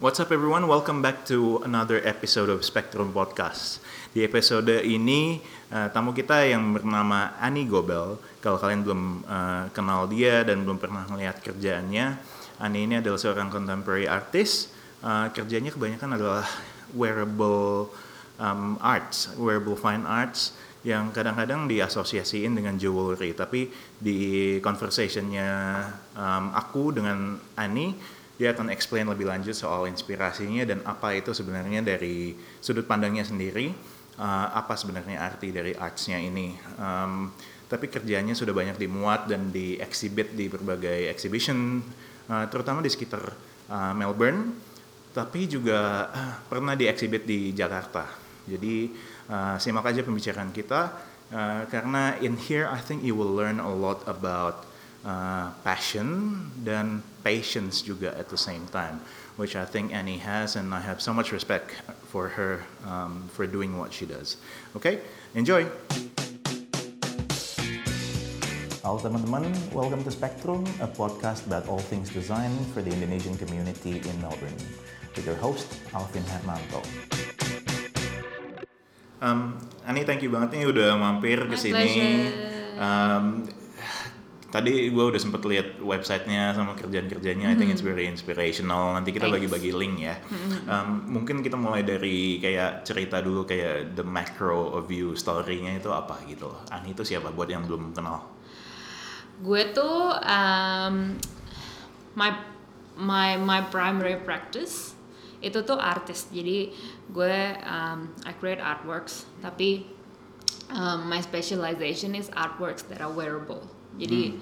What's up everyone? Welcome back to another episode of Spectrum Podcast. Di episode ini tamu kita yang bernama Ani Gobel. Kalau kalian belum kenal dia dan belum pernah melihat kerjaannya, Ani ini adalah seorang contemporary artist. Kerjanya kebanyakan adalah wearable arts, wearable fine arts yang kadang-kadang diasosiasiin dengan jewelry. Tapi di conversationnya aku dengan Ani, dia akan explain lebih lanjut soal inspirasinya dan apa itu sebenarnya dari sudut pandangnya sendiri, apa sebenarnya arti dari artsnya ini. Tapi kerjanya sudah banyak dimuat dan di-exhibit di berbagai exhibition, terutama di sekitar Melbourne, tapi juga pernah di-exhibit di Jakarta. Jadi simak aja pembicaraan kita, karena in here I think you will learn a lot about passion dan patience juga at the same time, which I think Annie has, and I have so much respect for her for doing what she does. Okay, enjoy. Halo teman-teman, welcome to Spectrum, a podcast about all things design for the Indonesian community in Melbourne, with your host Alvin Hermanto. Ani, thank you banget nih udah mampir ke sini. Tadi gue udah sempet lihat websitenya sama kerjaan-kerjanya. I think it's very inspirational. Nanti kita bagi-bagi link ya. Mungkin kita mulai dari kayak cerita dulu, kayak the macro of you story-nya itu apa gitu. Ani itu siapa buat yang belum kenal? Gue tuh my primary practice itu tuh artist. Jadi gue I create artworks, tapi my specialization is artworks that are wearable. Jadi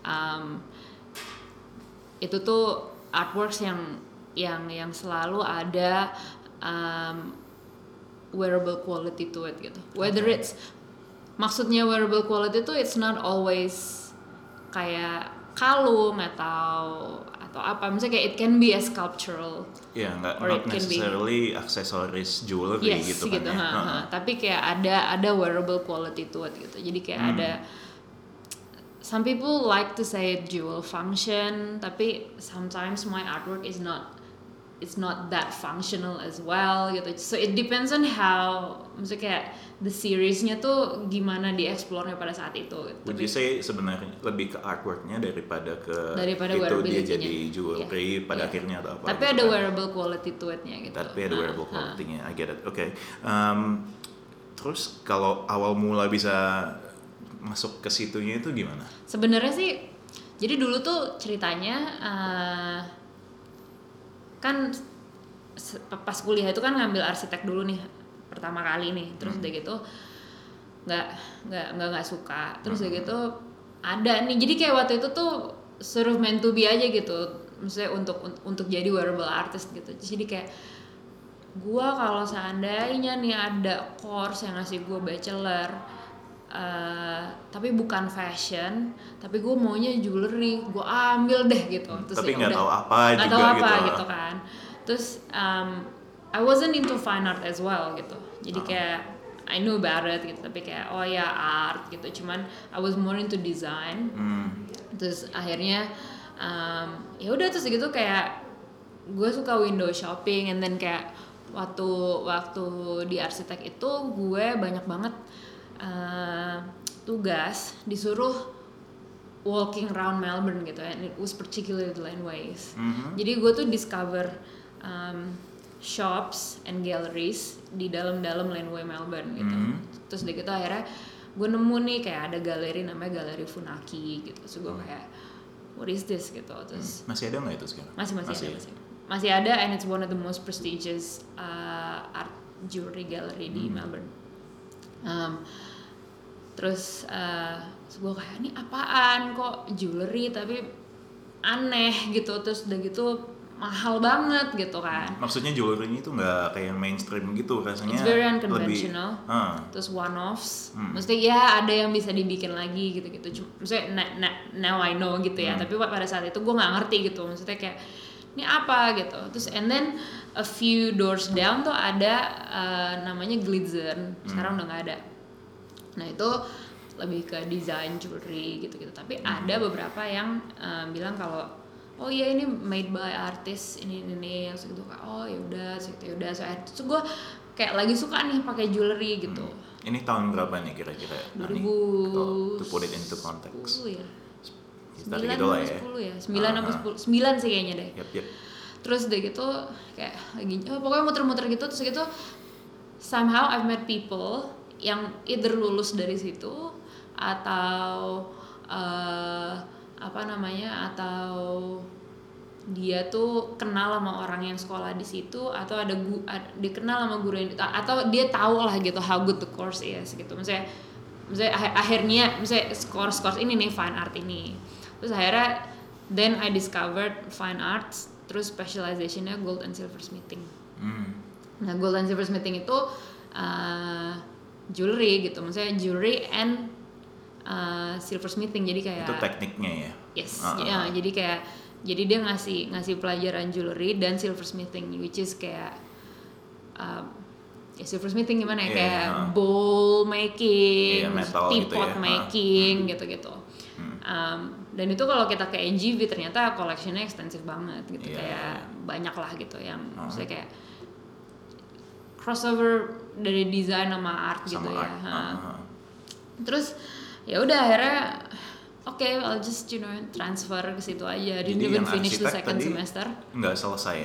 itu tuh artworks yang selalu ada wearable quality to it gitu. Whether it's, maksudnya wearable quality tuh it's not always kayak kalung atau apa, misalnya kayak it can be a sculptural. Ya, not necessarily aksesoris jewelry gitu kan gitu, ya. Tapi kayak ada wearable quality to it gitu. Jadi kayak ada, some people like to say jewel function, tapi sometimes my artwork is not that functional as well gitu. So it depends on how, maksudnya kayak the seriesnya tuh gimana dieksplornya pada saat itu gitu. Would you say sebenarnya lebih ke artworknya daripada itu dia jadi jewelry pada akhirnya atau apa? Tapi gitu ada kan? wearable quality to it-nya gitu. Tapi ada wearable quality-nya, I get it. Okay. Terus kalau awal mula bisa masuk ke situnya itu gimana? Sebenarnya sih, jadi dulu tuh ceritanya kan pas kuliah itu kan ngambil arsitek dulu nih pertama kali nih, terus udah gitu nggak suka, terus udah gitu ada nih, jadi kayak waktu itu tuh suruh meant to be aja gitu, maksudnya untuk jadi wearable artist gitu. Jadi kayak gua kalau seandainya nih ada course yang ngasih gua bachelor tapi bukan fashion, tapi gue maunya jewelry, gue ambil deh gitu. Terus tapi nggak tahu apa gitu kan. Terus I wasn't into fine art as well gitu. Jadi kayak I knew about it gitu, tapi kayak oh ya art gitu. Cuman I was more into design. Terus akhirnya ya udah, terus gitu kayak gue suka window shopping, and then kayak waktu di arsitek itu gue banyak banget tugas disuruh walking around Melbourne gitu, and it was particularly laneways. Jadi gue tuh discover shops and galleries di dalam laneway Melbourne gitu. Terus dari gitu akhirnya gue nemu nih kayak ada galeri namanya Galeri Funaki gitu. So gue kayak what is this gitu. Terus masih ada nggak itu sekarang? Masih ada, and it's one of the most prestigious art jewelry gallery di Melbourne. Terus gue kayak ini apaan kok jewelry tapi aneh gitu, terus udah gitu mahal banget gitu kan. Maksudnya jewelry ini tuh nggak kayak yang mainstream gitu rasanya. It's very unconventional. Terus one offs. Maksudnya ya ada yang bisa dibikin lagi gitu-gitu. Maksudnya now I know gitu ya. Tapi pada saat itu gue nggak ngerti gitu. Maksudnya kayak ini apa gitu. Terus and then a few doors down tuh ada namanya Glitzen. Sekarang udah nggak ada. Nah itu lebih ke desain jewelry gitu-gitu. Tapi ada beberapa yang bilang kalau oh iya ini made by artist ini terus gitu kayak oh yaudah terus gue kayak lagi suka nih pakai jewelry gitu. Ini tahun berapa nih kira-kira? 2010 to put it into context. ya. 9 Gitu lah ya. 10 ya. 9 apa 10? 9 sih kayaknya deh. Yep. Terus udah gitu kayak lagi pokoknya muter-muter gitu terus gitu somehow I've met people yang either lulus dari situ atau atau dia tuh kenal sama orang yang sekolah di situ atau dia kenal sama guru yang atau dia tahu lah gitu how good the course is gitu. Misalnya akhirnya misalnya course ini nih fine art ini. Terus akhirnya then I discovered fine arts terus specializationnya gold and silver smithing. Nah gold and silver smithing itu jewelry gitu, maksudnya jewelry and silver smithing, jadi kayak itu tekniknya ya. Yes, ya, jadi dia ngasih pelajaran jewelry dan silver smithing, which is kayak silver smithing gimana ya, kayak bowl making, teapot gitu making gitu-gitu. Dan itu kalau kita ke NGV ternyata collectionnya ekstensif banget gitu, kayak banyak lah gitu yang maksudnya kayak crossover dari desain sama art gitu ya. Terus ya udah akhirnya I'll just transfer ke situ aja. Didn't even finish the second semester. Nggak selesai.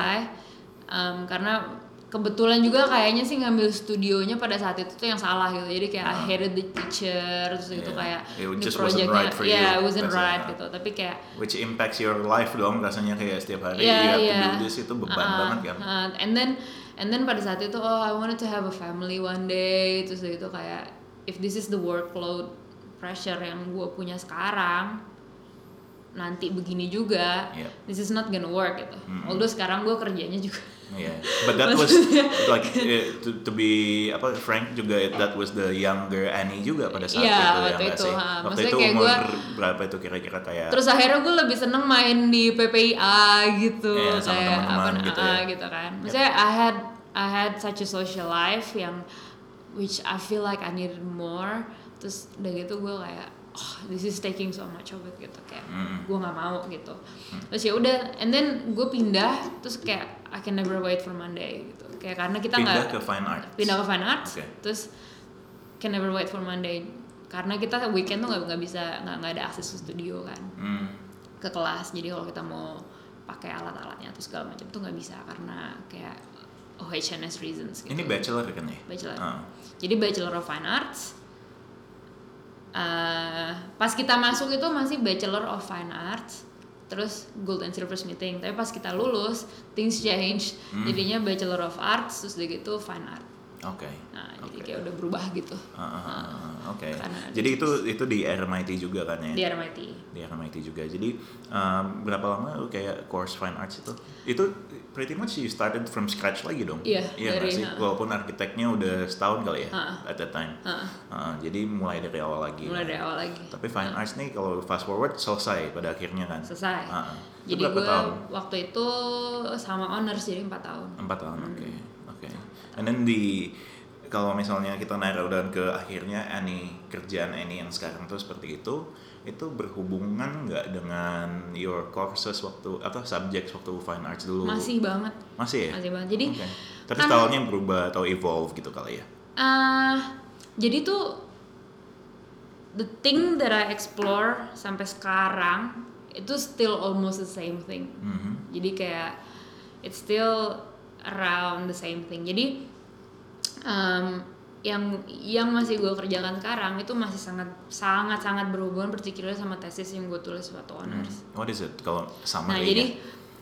Karena kebetulan juga kayaknya sih ngambil studionya pada saat itu tuh yang salah gitu. Jadi kayak I hated the teacher terus gitu kayak ini projectnya it wasn't right gitu. Tapi kayak which impacts your life dong rasanya, kayak setiap hari you have to do this, itu beban banget kan. And then pada saat itu I wanted to have a family one day, terus gitu kayak if this is the workload pressure yang gue punya sekarang nanti begini juga, this is not gonna work gitu. Although sekarang gue kerjanya juga. But that was like to be frank juga, that was the younger Annie juga pada saat itu ya. Waktu itu umur berapa itu kira-kira kayak. Terus akhirnya gue lebih seneng main di PPIA gitu, sama kayak teman-teman gitu ya. Gitu kan. Maksudnya I had such a social life yang which I feel like I needed more. Terus udah gitu gue kayak this is taking so much of it gitu, kayak gue nggak mau gitu. Terus ya udah, and then gue pindah, terus kayak I can never wait for Monday gitu, kayak karena kita nggak pindah ke fine arts, terus can never wait for Monday karena kita weekend tuh nggak bisa nggak ada akses ke studio kan, ke kelas. Jadi kalau kita mau pakai alat-alatnya atau segala macam tuh nggak bisa karena kayak HNS reasons gitu. Ini bachelor kan ya? Bachelor. Jadi Bachelor of Fine Arts. Pas kita masuk itu masih Bachelor of Fine Arts, terus Gold and Silver Smithing. Tapi pas kita lulus, things change. Jadinya Bachelor of Arts, terus udah gitu Fine Art. Jadi kayak udah berubah gitu. Jadi itu di RMIT juga kan ya? Di RMIT juga. Jadi berapa lama lu kayak course Fine Arts itu? Itu pretty much you started from scratch lagi dong? Iya dari, sih? Walaupun arsiteknya udah setahun kali ya at that time. Jadi mulai dari awal lagi. Tapi Fine Arts nih kalau fast forward selesai pada akhirnya kan? Selesai. Jadi gue waktu itu sama honors jadi 4 tahun. 4 tahun, oke. And then kalau misalnya kita narrow down ke akhirnya kerjaan Annie yang sekarang tuh seperti itu berhubungan nggak dengan your courses waktu atau subjects waktu Fine Arts dulu? Masih banget. Masih ya? Masih banget. Jadi tapi stylenya berubah atau evolve gitu kali ya? Jadi tuh the thing that I explore sampai sekarang itu still almost the same thing. Jadi kayak it's still around the same thing. Jadi yang masih gue kerjakan sekarang itu masih sangat berhubungan particular sama tesis yang gue tulis waktu honors. What is it kalau sama? Nah jadi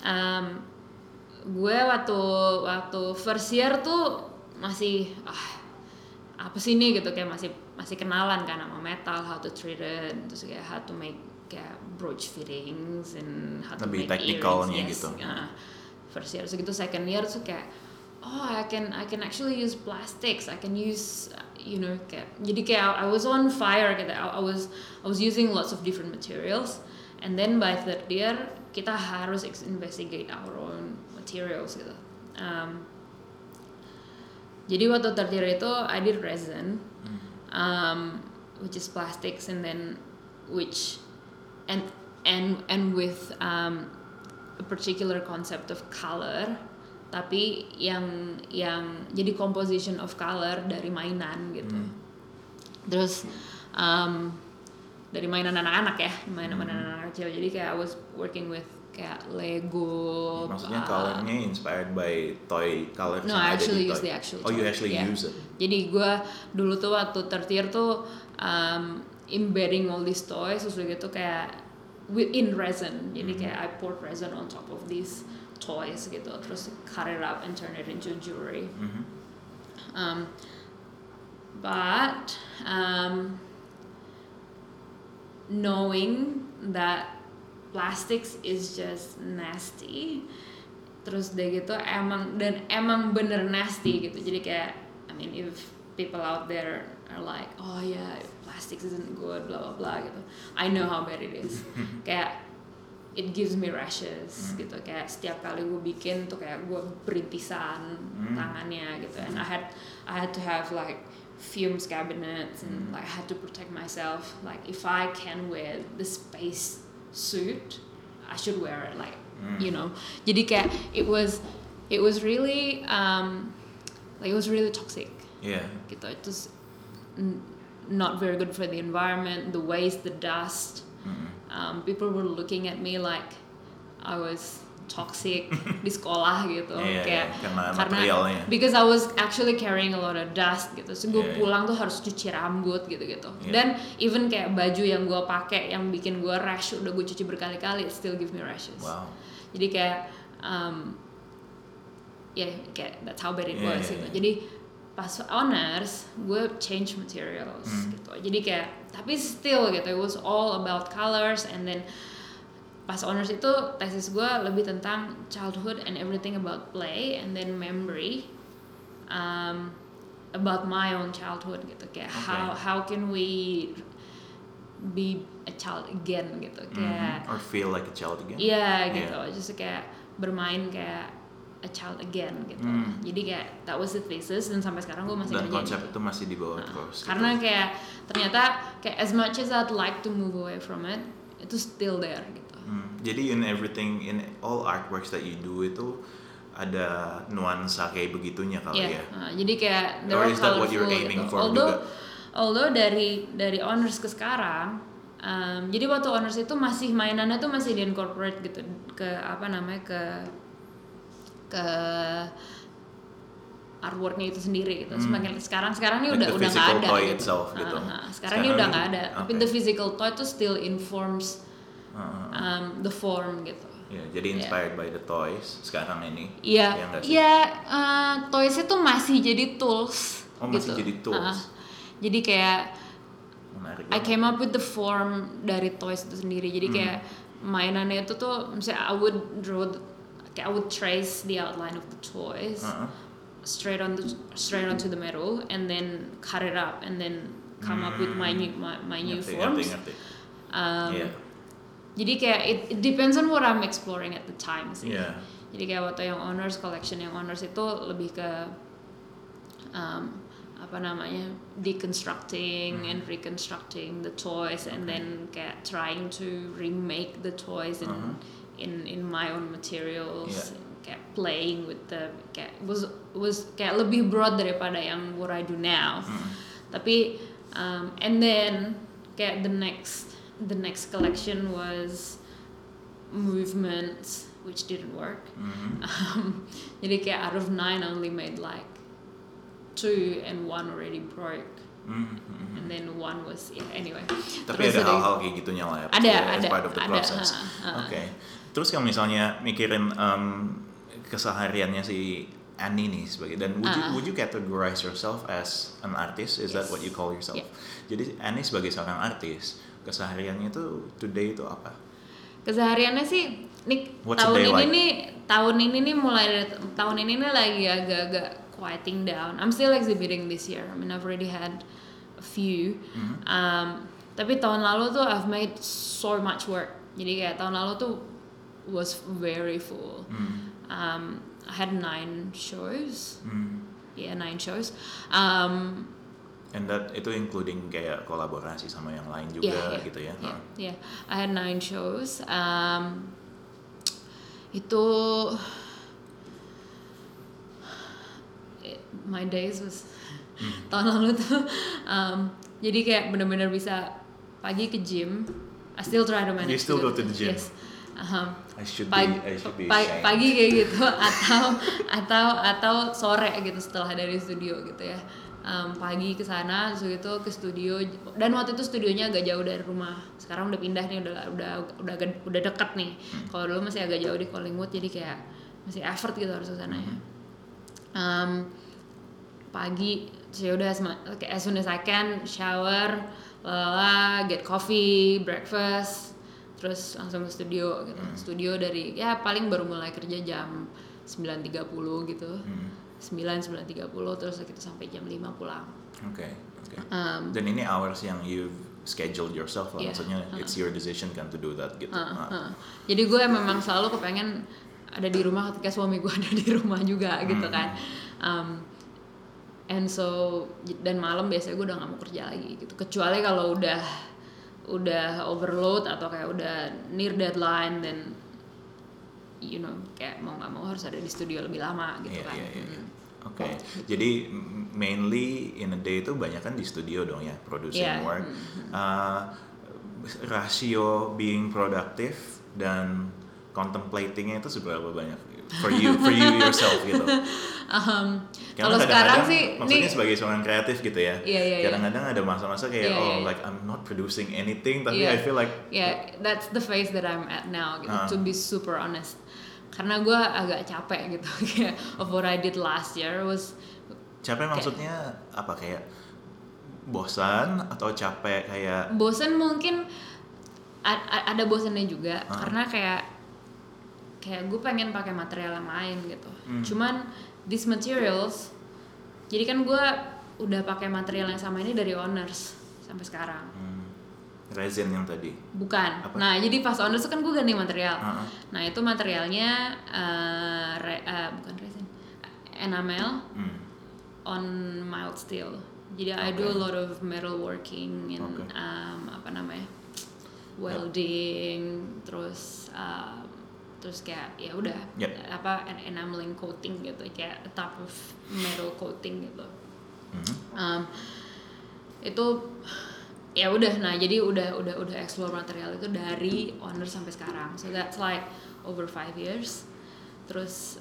gue waktu first year tuh masih apa sih ini gitu, kayak masih kenalan kan sama metal, how to treat it, terus kayak how to make kayak brooch fittings and how to lebih make teknikalnya earrings. Gitu. First year, so gitu second year tuh kayak I can actually use plastics, I can use kayak jadi kayak I was on fire gitu. I was using lots of different materials, and then by third year kita harus investigate our own materials gitu. Jadi waktu third year itu I did resin, which is plastics, and then and with a particular concept of color, tapi yang jadi composition of color dari mainan gitu. Terus dari mainan anak-anak ya, mainan anak-anak kecil. Jadi kayak I was working with kayak Lego. Maksudnya colornya inspired by toy colors? No, I actually use the actual toy. Oh, you actually use it? Jadi gue dulu tuh waktu third year tuh embedding all these toys, terus gitu kayak in resin. Jadi kayak I poured resin on top of these toys gitu, terus cut it up and turn it into jewelry. But knowing that plastics is just nasty, terus deh gitu emang bener nasty gitu. Jadi kayak I mean if people out there are like oh yeah plastics isn't good blah blah blah gitu, I know how bad it is. Kayak it gives me rashes gitu, kayak setiap kali gue bikin tuh kayak gue berintisan tangannya gitu, and I had to have like fumes cabinets and like I had to protect myself, like if I can wear the space suit I should wear it, like you know. Jadi kayak it was really like it was really toxic. Yeah. Gitu. It was not very good for the environment, the waste, the dust. People were looking at me like I was toxic di sekolah gitu. Kayak karena materialnya. Because I was actually carrying a lot of dust gitu. So gue pulang tuh harus cuci rambut gitu-gitu. Dan even kayak baju yang gue pakai yang bikin gue rash udah gue cuci berkali-kali, it still give me rashes. Wow. Jadi kayak kayak that's how bad it was gitu. Jadi pas honors gue change materials gitu. Jadi kayak tapi still gitu, it was all about colors. And then pas honors itu tesis gue lebih tentang childhood and everything about play and then memory about my own childhood gitu, kayak how can we be a child again gitu, kayak or feel like a child again. Gitu, just kayak bermain kayak a child again gitu. Jadi kayak that was the thesis, dan sampai sekarang gue masih dan ngerjain konsep gitu. itu masih dibawa terus gitu. Karena kayak ternyata kayak as much as I'd like to move away from it, itu still there gitu. Jadi in all artworks that you do itu ada nuansa kayak begitunya kali ya. Jadi kayak or is that what you're aiming for juga? Although dari honors ke sekarang, jadi waktu honors itu masih mainannya tuh masih di incorporate gitu ke apa namanya ke artworknya itu sendiri gitu. Semakin sekarang ini like udah nggak ada. Toy gitu. itself, gitu. Sekarang ini udah nggak ada. Tapi the physical toy itu still informs the form gitu. Jadi inspired by the toys sekarang ini. Toys itu masih jadi tools. Oh, gitu. Masih jadi tools. Jadi kayak menarik I came up with the form dari toys itu sendiri. Jadi kayak mainannya itu tuh, misalnya I would trace the outline of the toys straight onto the metal and then cut it up and then come up with my new forms. Ngerti. Jadi kayak it depends on what I'm exploring at the time sih. Jadi kayak waktu yang honors collection yang honors itu lebih ke apa namanya deconstructing and reconstructing the toys and then kayak trying to remake the toys in my own materials. Kayak playing with the kayak was kayak lebih broad daripada yang what I do now. Tapi and then kayak the next collection was movements, which didn't work. Jadi kayak out of 9 I only made like 2 and 1 already broke. And then 1 was anyway. Tapi ada hal-hal kayak gitunya lah ya. Ada. Part of the process. Okay. Terus kalau misalnya mikirin kesehariannya si Annie nih sebagai, dan would you categorize yourself as an artist? Is that what you call yourself? Jadi Annie sebagai seorang artis, kesehariannya itu today itu apa? Kesehariannya sih tahun ini nih mulai dari tahun ini nih lagi agak-agak quieting down. I'm still exhibiting this year. I mean I've already had a few. Tapi tahun lalu tuh I've made so much work. Jadi kayak tahun lalu tuh was very full. I had 9 shows. 9 shows. And that itu including kayak kolaborasi sama yang lain juga gitu ya. Yeah. I had 9 shows. Itu my days was tahun lalu tuh. Jadi kayak benar-benar bisa pagi ke gym. I still try to manage. You still go to the gym? Yes. I should be ashamed. Pagi kayak gitu atau sore gitu setelah dari studio gitu ya. Pagi ke sana, terus itu ke studio, dan waktu itu studionya agak jauh dari rumah. Sekarang udah pindah nih, udah dekat nih. Kalau dulu masih agak jauh di Collingwood, jadi kayak masih effort gitu harus ke sana ya. Pagi, saya udah as soon as I can shower, get coffee, breakfast, terus langsung ke studio gitu. Studio dari ya paling baru mulai kerja jam 9.30 gitu. 9.30 terus kita sampai jam 5 pulang. Oke. Dan ini hours yang you've scheduled yourself lah, maksudnya it's your decision kan to do that gitu. Jadi gue memang selalu kepengen ada di rumah ketika suami gue ada di rumah juga gitu kan. And so dan malam biasanya gue udah nggak mau kerja lagi gitu, kecuali kalau udah overload atau kayak udah near deadline, dan you know kayak mau nggak mau harus ada di studio lebih lama gitu kan. Oke. Jadi mainly in a day itu banyak kan di studio dong ya, producing work. Rasio being productive dan contemplatingnya itu seberapa banyak for you yourself gitu? Kalau sekarang sih, maksudnya sebagai seorang kreatif gitu ya. Kadang-kadang ada masa-masa kayak like I'm not producing anything, tapi I feel like that's the phase that I'm at now gitu, to be super honest. Karena gue agak capek gitu kayak of what I did last year was. Capek maksudnya apa, kayak bosan atau capek kayak? Bosan mungkin ada bosannya juga, karena kayak gue pengen pakai material yang lain gitu. Cuman these materials, jadi kan gue udah pakai material yang sama ini dari Owners sampai sekarang. Resin yang tadi? Bukan. Apa? Nah jadi pas Owners itu kan gue ganti material. Nah itu materialnya bukan resin, enamel on mild steel. Jadi I do a lot of metal working and welding, terus kayak ya udah enameling coating gitu, kayak a type of metal coating gitu. Itu ya udah, nah jadi udah explore material itu dari Owner sampai sekarang, so that's like over 5 years. Terus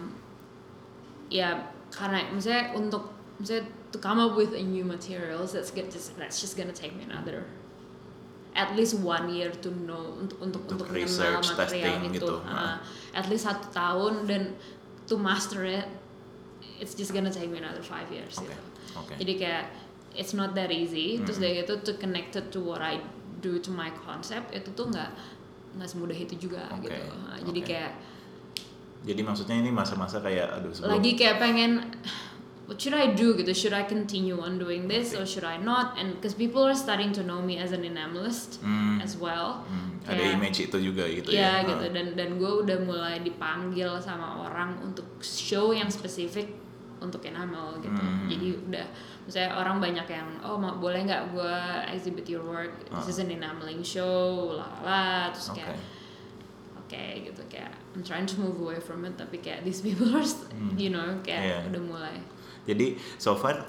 ya karena misalnya to come up with a new materials, that's just gonna take me another at least 1 year to know untuk mengenal material itu. At least 1 tahun, dan to master it, it's just gonna take me another 5 years gitu. Jadi kayak it's not that easy. Terus dari itu to connect it to what I do to my concept, itu tuh nggak semudah itu juga gitu. Jadi kayak. Jadi maksudnya ini masa-masa kayak lagi kayak pengen, what should I do gitu? Should I continue on doing this or should I not? And because people are starting to know me as an enamelist as well. Ada image itu juga gitu ya. Iya gitu, dan gue udah mulai dipanggil sama orang untuk show yang spesifik untuk enamel gitu. Jadi udah, misalnya orang banyak yang boleh nggak gue exhibit your work? This is an enameling show, terus kayak okay, gitu, kayak I'm trying to move away from it, tapi kayak these people are you know kayak udah mulai. Jadi so far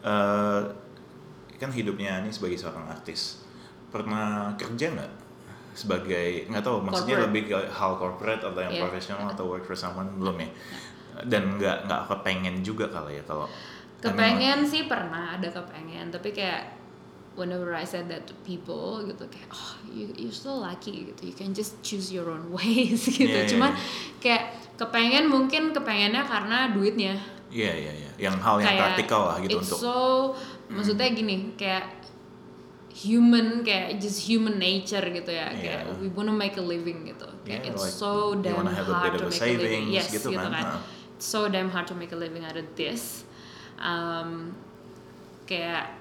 kan hidupnya ini sebagai seorang artis, pernah kerja nggak sebagai, nggak tahu maksudnya corporate, lebih ke hal corporate atau yang profesional atau work for someone, belum ya? Dan nggak kepengen juga kali ya kalau kepengen sih, pernah ada kepengen, tapi kayak whenever I said that to people gitu kayak you're so lucky gitu, you can just choose your own ways gitu. Cuman kayak kepengennya karena duitnya. Yang hal yang praktikal lah gitu, untuk maksudnya gini, kayak just human nature gitu ya, kayak we wanna make a living gitu, kayak it's like so damn hard to make a living. Yes gitu kan. It's so damn hard to make a living out of this. Kayak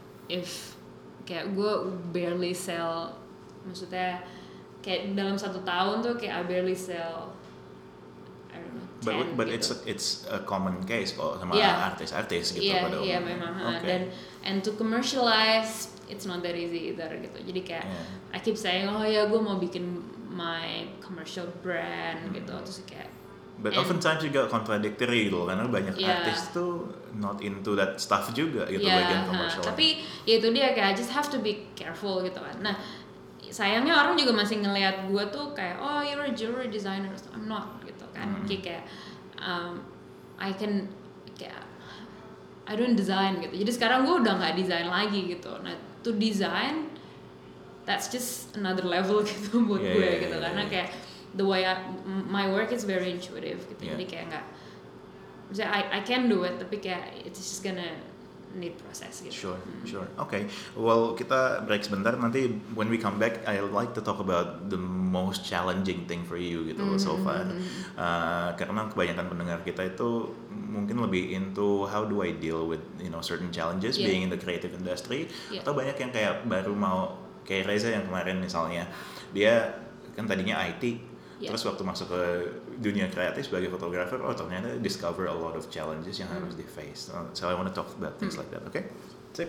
gue barely sell, maksudnya kayak dalam 1 tahun tuh kayak I barely sell, I don't know, But gitu. it's a common case kok sama Yeah. artis-artis gitu Iya, pada iya umumnya. memang. Okay. And to commercialize it's not that easy either gitu. Jadi kayak I keep saying oh ya gue mau bikin my commercial brand gitu, terus kayak But oftentimes juga contradictory gitu karena banyak artis tuh not into that stuff juga gitu bagian commercial. Tapi ya itu dia kayak I just have to be careful gitu kan. Nah sayangnya orang juga masih ngelihat gue tuh kayak oh you're a jewelry designer, I'm not gitu kan. Kayak I can kayak I don't design gitu. Jadi sekarang gue udah nggak design lagi gitu. Nah to design that's just another level gitu buat gue gitu karena kayak the way my work is very intuitive gitu. Jadi kayak nggak I can do it tapi kayak it's just gonna need proses gitu. Sure. Okay. Well, kita break sebentar. Nanti when we come back, I like to talk about the most challenging thing for you gitu so far. Karena kebanyakan pendengar kita itu mungkin lebih into how do I deal with certain challenges being in the creative industry. Atau banyak yang kayak baru mau kayak Reza yang kemarin misalnya dia kan tadinya IT. Terus waktu masuk ke dunia kreatif sebagai fotografer, ternyata discover a lot of challenges yang harus di face. So I want to talk about things like that, okay? Sip.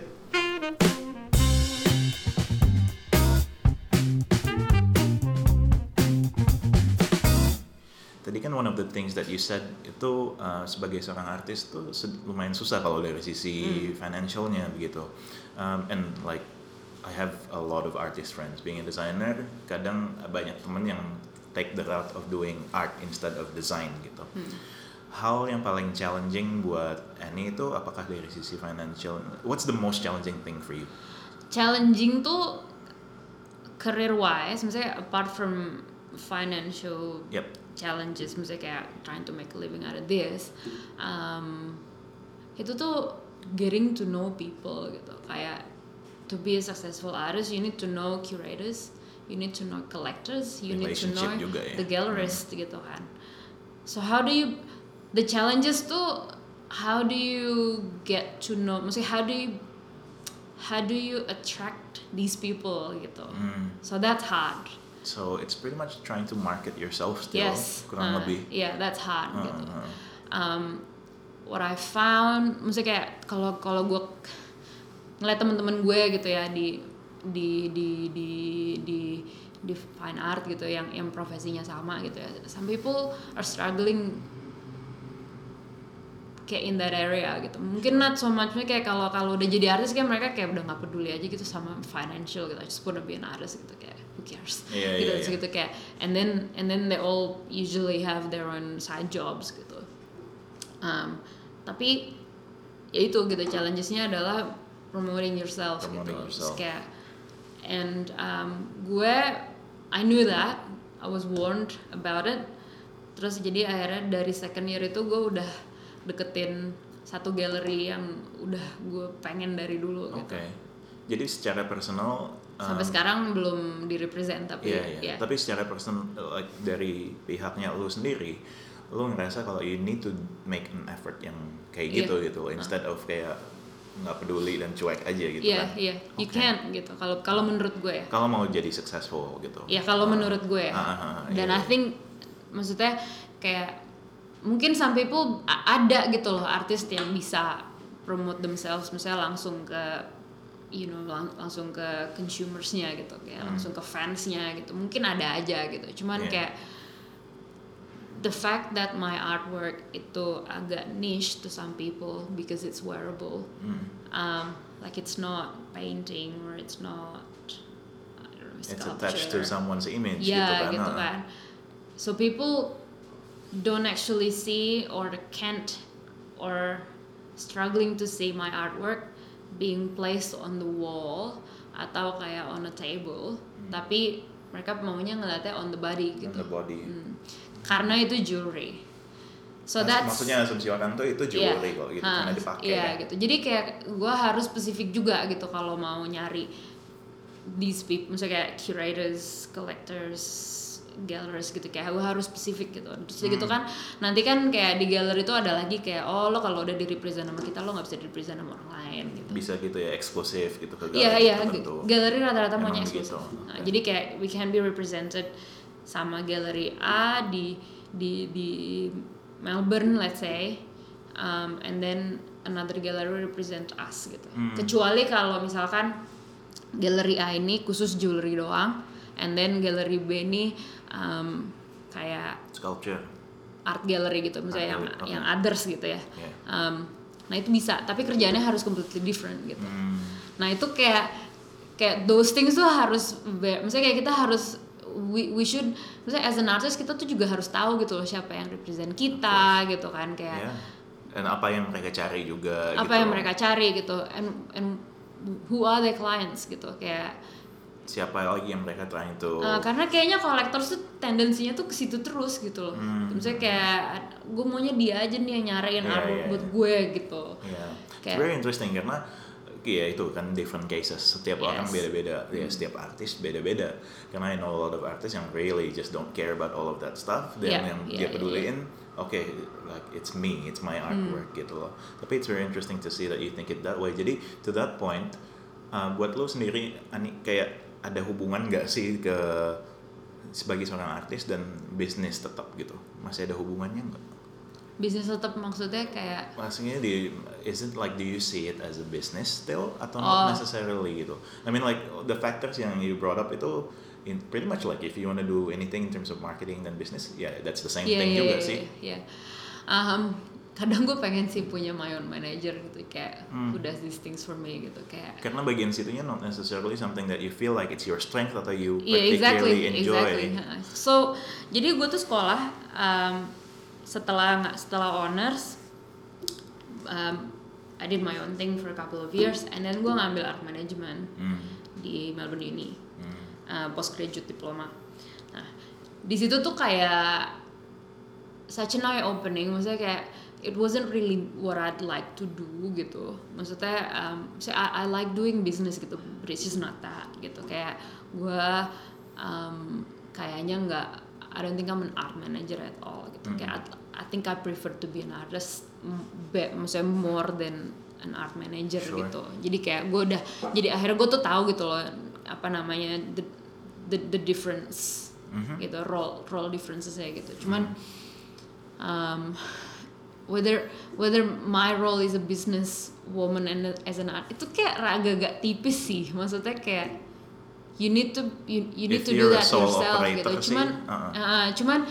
Tadi kan one of the things that you said itu sebagai seorang artis tuh lumayan susah kalau dari sisi financialnya begitu. And like I have a lot of artist friends being a designer, kadang banyak temen yang take the route of doing art instead of design gitu. Hal yang paling challenging buat Annie itu apakah dari sisi financial? What's the most challenging thing for you? Challenging tuh career wise, misalnya apart from financial challenges, misalnya kayak trying to make a living out of this, itu tuh getting to know people gitu. Kayak to be a successful artist, you need to know curators. You need to know collectors, you need to know the gallerists gitu kan. So how do you, the challenges tuh, how do you get to know, maksudnya how do you attract these people gitu. So that's hard. So it's pretty much trying to market yourself still, kurang lebih. Yeah, that's hard gitu. What I found, maksudnya kayak kalau gue ngeliat teman-teman gue gitu ya di fine art gitu yang profesinya sama gitu ya. Some people are struggling kayak in that area gitu. Mungkin not so much kayak kalau udah jadi artis kayak mereka kayak udah nggak peduli aja gitu sama financial gitu. I just wanna be an artist gitu kayak who cares gitu kayak and then they all usually have their own side jobs gitu. Tapi ya itu gitu challengesnya adalah promoting yourself gitu. Kayak and I knew that, I was warned about it. Terus jadi akhirnya dari second year itu gue udah deketin satu galeri yang udah gue pengen dari dulu gitu. Jadi secara personal sampai sekarang belum direpresent tapi tapi secara personal like dari pihaknya lu sendiri, lu ngerasa kalau you need to make an effort yang kayak gitu instead of kayak nggak peduli dan cuek aja gitu kan? Iya, you can't gitu. Kalau menurut gue ya. Kalau mau jadi successful gitu. Iya kalau menurut gue ya. Dan I think maksudnya kayak mungkin some people ada gitu loh artis yang bisa promote themselves misalnya langsung ke langsung ke consumersnya gitu kayak langsung ke fansnya gitu. Mungkin ada aja gitu. Cuman kayak the fact that my artwork itu agak niche to some people because it's wearable, like it's not painting or it's not sculpture. It's attached to someone's image gitu kan. So people don't actually see or can't or struggling to see my artwork being placed on the wall atau kayak on a table, tapi mereka maunya ngeliatnya on the body gitu. On the body. Karena itu jewelry. So that's maksudnya asumsi orang tuh itu jewelry kok gitu karena dipakai. Iya gitu. Jadi kayak gue harus spesifik juga gitu kalau mau nyari these people, misalnya kayak curators, collectors, galleries gitu kayak gue harus spesifik gitu. Terus gitu kan nanti kan kayak di gallery itu ada lagi kayak lo kalau udah di represent sama kita lo nggak bisa di represent sama orang lain gitu. Bisa gitu ya eksklusif gitu ke gallery tertentu. Iya, gallery rata-rata maunya eksklusif. Nah, jadi kayak we can be represented sama gallery A di Melbourne let's say, and then another gallery represent us gitu. Kecuali kalau misalkan galeri A ini khusus jewelry doang, and then galeri B ini kayak Sculpture. art gallery gitu, misalnya yang others gitu ya. Yeah. Nah itu bisa, tapi kerjaannya harus completely different gitu. Nah itu kayak those things tuh harus, misalnya kayak kita harus we should, misalnya as an artist kita tuh juga harus tahu gitu loh siapa yang represent kita gitu kan, kayak dan apa yang mereka cari juga apa gitu. yang mereka cari gitu, and who are their clients gitu, kayak siapa lagi yang mereka trying to karena kayaknya collectors tuh tendensinya tuh ke situ terus gitu loh. Misalnya kayak gue maunya dia aja nih yang nyariin artwork buat gue gitu. It's very interesting karena ya itu kan different cases, setiap orang beda-beda, ya setiap artis beda-beda. Karena I know a lot of artists yang really just don't care about all of that stuff, dan yang dia peduliin, okay, like it's me, it's my artwork gitu loh. Tapi it's very interesting to see that you think it that way. Jadi to that point, buat lo sendiri, Ani, kayak ada hubungan nggak sih ke sebagai seorang artis dan bisnis tetap gitu? Masih ada hubungannya nggak? Bisnis tetap maksudnya kayak? Maksudnya is it like, do you see it as a business still atau not necessarily gitu? I mean like the factors yang you brought up itu pretty much like if you want to do anything in terms of marketing dan business, that's the same thing juga sih. Kadang gue pengen sih punya my own manager gitu, kayak who does these things for me gitu, kayak. Karena bagian situnya not necessarily something that you feel like it's your strength atau you particularly enjoy. So jadi gue tuh sekolah setelah honors, I did my own thing for a couple of years, and then gue ngambil art management di Melbourne Uni, postgraduate diploma. Nah di situ tuh kayak such an eye opening, maksudnya kayak it wasn't really what I'd like to do gitu. Maksudnya I like doing business gitu, but it's just not that gitu. Kayak gue kayaknya nggak, I don't think I'm an art manager at all gitu. Kayak I think I prefer to be an artist, maksudnya more than an art manager gitu. Jadi kayak gue udah, jadi akhirnya gue tuh tahu gitu loh apa namanya the difference gitu, role differences ya gitu. Cuman whether my role is a business woman and as an art, itu kayak agak tipis sih, maksudnya kayak you need to do that yourself gitu. Cuman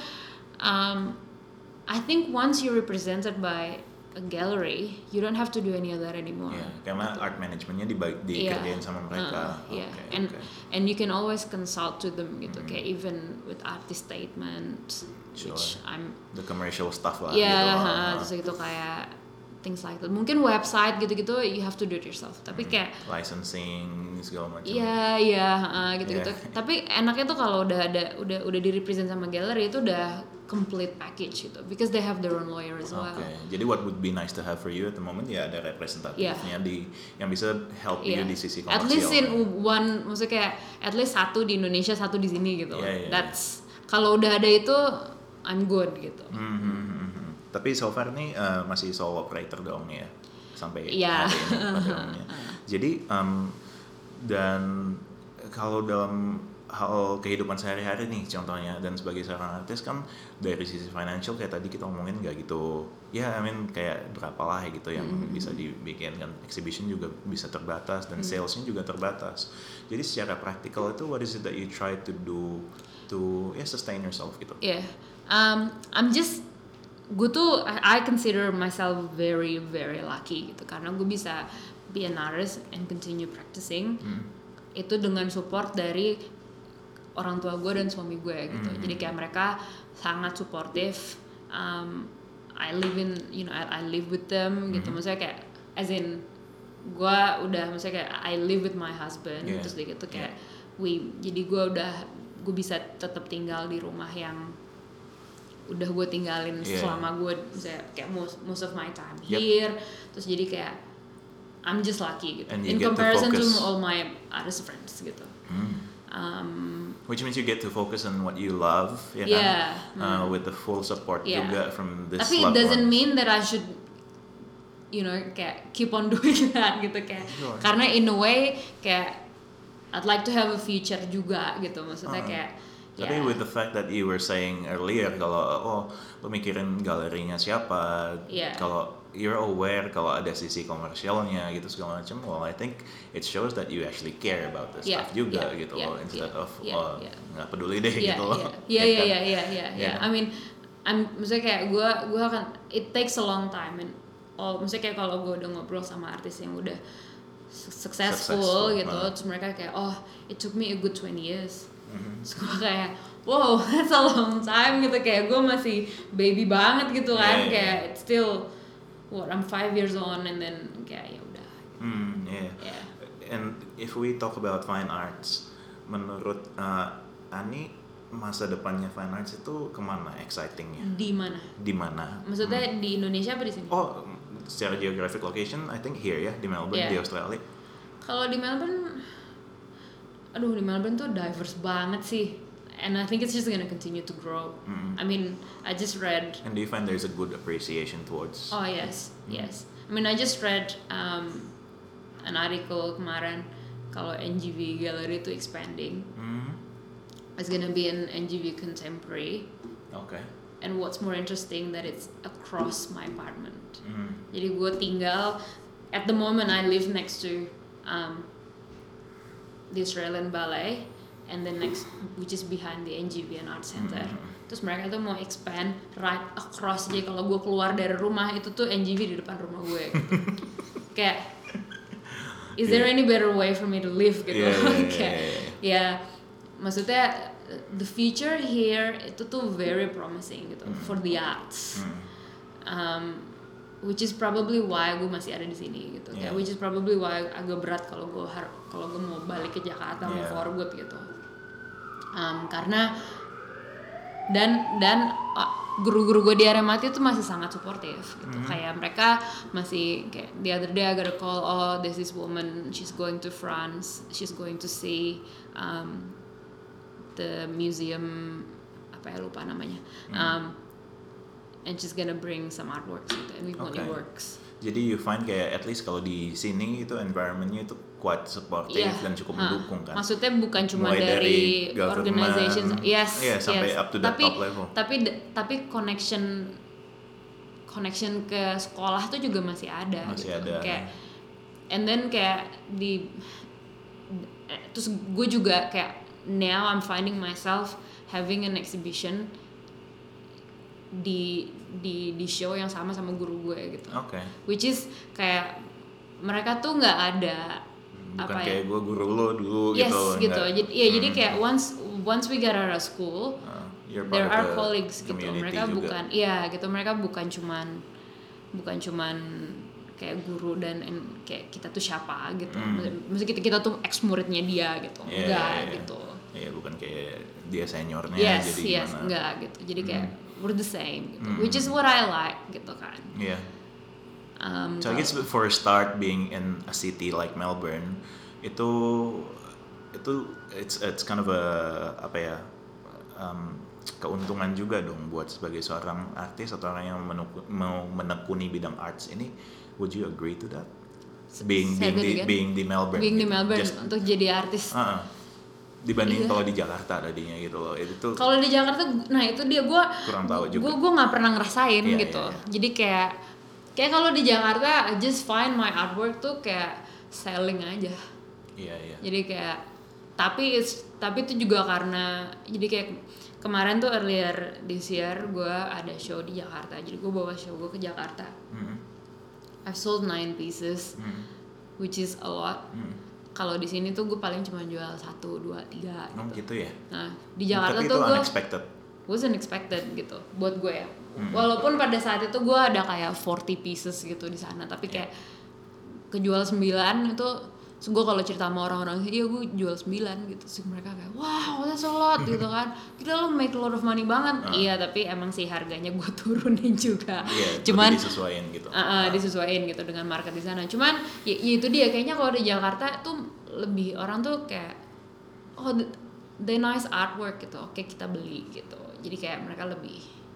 I think once you're represented by a gallery, you don't have to do any of that anymore. Karena art managementnya dikerjain sama mereka. And you can always consult to them gitu, kayak even with artist statement, which I'm the commercial stuff lah. Terus gitu kayak things like that. Mungkin website gitu-gitu you have to do it yourself. Tapi kayak licensing segala macam. Gitu-gitu. Tapi enaknya tuh kalau udah di-represent sama gallery itu udah complete package gitu, because they have their own lawyer as well. Jadi what would be nice to have for you at the moment ada representatifnya yang bisa help you di sisi komersial. At least in one, maksudnya kayak at least satu di Indonesia, satu di sini gitu. That's kalau udah ada itu I'm good gitu. Tapi so far nih masih sole operator dong ya sampai hari ini. Jadi dan kalau dalam hal kehidupan sehari-hari nih contohnya, dan sebagai seorang artis kan dari sisi financial kayak tadi kita omongin nggak gitu, I mean kayak berapa lah gitu yang bisa dibikin kan, exhibition juga bisa terbatas dan salesnya juga terbatas. Jadi secara praktikal itu what is it that you try to do to sustain yourself gitu? I consider myself very very lucky gitu, karena gue bisa be an artist and continue practicing itu dengan support dari orang tua gue dan suami gue gitu. Jadi kayak mereka sangat supportive. I live with them gitu. Maksudnya kayak as in gue udah, maksudnya kayak I live with my husband, terus gitu kayak jadi gue bisa tetap tinggal di rumah yang udah gue tinggalin selama gue misalnya kayak most of my time here. Terus jadi kayak I'm just lucky gitu in comparison to all my artist friends gitu. Which means you get to focus on what you love, with the full support juga from this. Tapi it doesn't mean that I should, kayak keep on doing that gitu kayak. Karena in a way kayak I'd like to have a future juga gitu, maksudnya kayak Tapi with the fact that you were saying earlier kalau lo mikirin galerinya siapa, kalau you're aware kalau ada sisi komersialnya gitu segala macam, well I think it shows that you actually care about the stuff juga gitu loh, instead of nggak peduli deh gitu loh. Iya. I mean, maksudnya kayak gue akan, it takes a long time, and maksudnya kayak kalau gue udah ngobrol sama artis yang udah successful gitu, terus mereka kayak it took me a good 20 years. Terus gue kayak wow, that's a long time gitu, kayak gue masih baby banget gitu kan, kayak it's still I'm 5 years on, and then kayak ya udah. And if we talk about fine arts, menurut Ani, masa depannya fine arts itu kemana excitingnya? Di mana? Maksudnya di Indonesia apa di sini? Secara geographic location, I think here ya, di Melbourne, di Australia. Kalau di Melbourne tuh diverse banget sih, and I think it's just gonna continue to grow. I mean, I just read. And do you find there's a good appreciation towards? Oh yes. I mean, I just read an article kemarin kalau NGV Gallery itu expanding. It's gonna be an NGV Contemporary. Okay. And what's more interesting that it's across my apartment. Jadi gue tinggal, at the moment I live next to the Australian Ballet, and then next, which is behind the NGV and Art Center. Terus mereka tuh mau expand right across, jadi kalau gue keluar dari rumah itu tuh NGV di depan rumah gue gitu. Kayak is there any better way for me to live gitu. Maksudnya the future here itu tuh very promising gitu for the arts. Which is probably why gue masih ada di sini gitu. Kayak which is probably why agak berat kalau gue mau balik ke Jakarta mau for good gitu. Karena dan guru-guru gue di RMIT itu masih sangat suportif gitu. Kayak mereka masih kayak the other day I got a call, there's this woman, she's going to France, she's going to see the museum, apa ya lupa namanya, and she's gonna bring some artworks gitu, and we want your works. Jadi you find kayak at least kalau di sini itu environmentnya itu quite supportive dan cukup mendukung kan. Maksudnya bukan cuma dari organizations, sampai up to the top level. Tapi connection ke sekolah tuh juga masih ada. Kayak, and then kayak terus gue juga kayak now I'm finding myself having an exhibition di show yang sama guru gue gitu. Which is kayak mereka tuh nggak ada bukan kayak gue guru lo dulu gitu. Jadi kayak once we get out of school, there are colleagues gitu. Mereka juga. Mereka bukan cuman kayak guru dan kayak kita tuh siapa gitu. Maksudnya kita tuh ex muridnya dia gitu. Enggak gitu. Bukan kayak dia seniornya jadi gimana. Enggak gitu. Jadi kayak we're the same gitu. Which is what I like gitu kan. So I guess for a start, being in a city like Melbourne, itu it's kind of a keuntungan juga dong buat sebagai seorang artis atau orang yang mau menekuni bidang arts ini. Would you agree to that? Being di Melbourne. Being di Melbourne untuk jadi artis. Dibanding kalau di Jakarta tadinya gitu loh. Itu kalau di Jakarta, nah itu dia gue kurang tahu juga. Gue nggak pernah ngerasain gitu. Jadi kayak kalau di Jakarta, I just find my artwork tuh kayak selling aja. Jadi kayak tapi itu juga karena jadi kayak kemarin tuh earlier this year gue ada show di Jakarta. Jadi gue bawa show gue ke Jakarta. I've sold 9 pieces, which is a lot. Kalau di sini tuh gue paling cuma jual 1, 2, 3 gitu ya. Nah di Jakarta tapi tuh itu gue was unexpected gitu buat gue ya. Walaupun pada saat itu gue ada kayak 40 pieces gitu di sana, tapi kayak kejual 9 itu. So gue kalau cerita sama orang-orang, iya gue jual 9 gitu, sih mereka kayak wow that's a lot gitu kan, kita lo make a lot of money banget. Iya tapi emang sih harganya gue turunin juga. Cuman disesuaiin gitu. Disesuaiin gitu dengan market di sana. Cuman ya itu dia kayaknya kalau di Jakarta tuh lebih orang tuh kayak they nice artwork gitu, oke kita beli gitu. Jadi kayak mereka lebih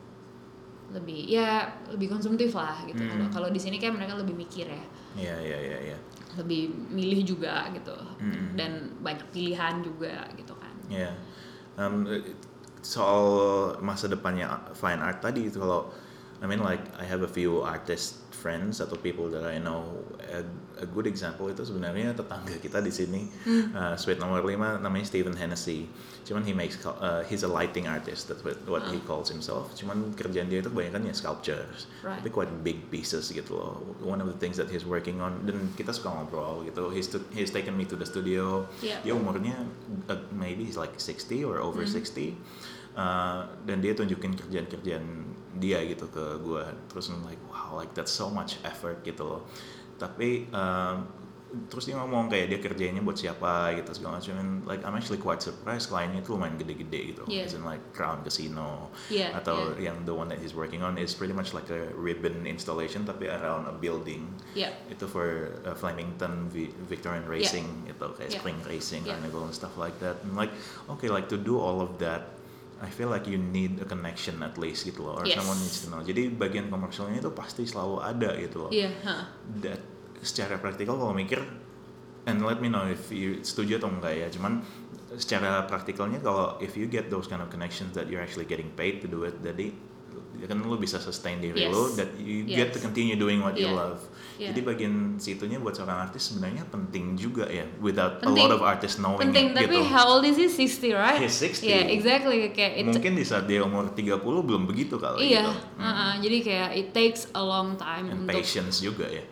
konsumtif lah gitu. Kalau di sini kayak mereka lebih mikir ya. Iya. Lebih milih juga gitu, dan banyak pilihan juga gitu kan. Um, soal masa depannya fine art tadi itu kalau I mean like I have a few artist friends atau people that I know. A good example itu sebenarnya tetangga kita di sini, suite nomor 5 namanya Stephen Hennessy. Cuman he's a lighting artist, that's what he calls himself. Cuman kerjaan dia itu kebanyakan ya sculptures, Right. tapi quite big pieces gitu loh. One of the things that he's working on, dan kita suka ngobrol gitu. He's taken me to the studio. Yeah. Dia umurnya maybe he's like 60 or over 60. Dan dia tunjukin kerjaan-kerjaan dia gitu ke gue, terus I'm like wow, like that's so much effort gitu loh. Tapi terus dia ngomong kayak dia kerjainnya buat siapa gitu segala macam, and like I'm actually quite surprised kliennya itu lumayan gede-gede gitu, Yeah. as in like Crown Casino, Yeah, atau yang the one that he's working on is pretty much like a ribbon installation tapi around a building. Yeah. Itu for Flemington Victorian Racing, itu kayak Yeah. spring racing, Yeah. carnival and stuff like that. And like okay, like to do all of that, I feel like you need a connection at least gitu loh, or Yes. someone needs to know. Jadi bagian komersialnya itu pasti selalu ada gitu loh. Iya, That secara praktikal kalau mikir, and let me know if you setuju atau enggak ya. Cuman secara praktikalnya kalau if you get those kind of connections that you're actually getting paid to do it, jadi kan lu bisa sustain diri Yes. lu, that you get to continue doing what you Yeah. love. Yeah. Jadi bagian situnya buat seorang artis sebenarnya penting juga ya, without a Penting. lot of artists knowing penting. it Tapi gitu. how old is he? 60, right? He's 60. Yeah, exactly. Kayak Mungkin di saat dia umur 30 belum begitu kali iya, gitu. jadi kayak it takes a long time And untuk patience juga ya.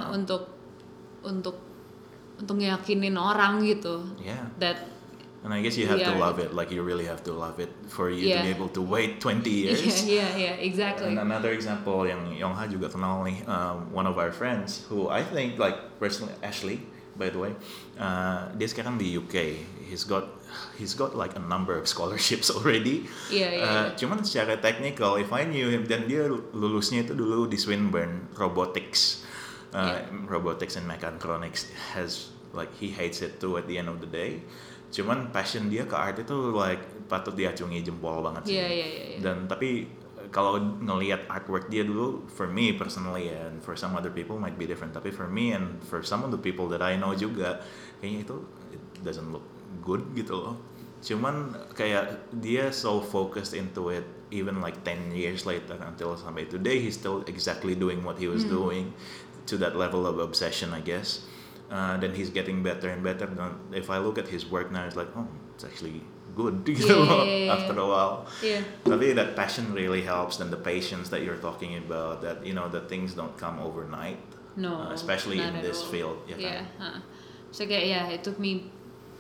untuk ngeyakinin orang gitu Yeah. that And I guess you have to Yeah. love it, like you really have to love it for you to Yeah. be able to wait 20 years. yeah, exactly. And another example yang Yongha juga kenal nih, one of our friends who I think like personally, Ashley by the way, dia sekarang di UK. He's got like a number of scholarships already. Iya. Cuman secara technical, if I knew him, dan dia lulusnya itu dulu di Swinburne Robotics, Robotics and Mechatronics. Has like he hates it too at the end of the day. Cuman passion dia ke art itu like patut diacungi jempol banget sih. Iya. Dan tapi kalau ngelihat artwork dia dulu, for me personally and for some other people might be different. Tapi for me and for some of the people that I know juga, kayaknya itu it doesn't look good gitu loh. Cuman kayak dia so focused into it, even like 10 years later until sampai today, he's still exactly doing what he was doing, to that level of obsession, I guess. Then he's getting better and better. Dan if I look at his work now, it's like, oh, it's actually good gitu loh, after a while. Yeah. Tapi that passion really helps, and the patience that you're talking about, that you know that things don't come overnight. No, Especially in not at this all. field, ya Yeah. kan? So kayak it took me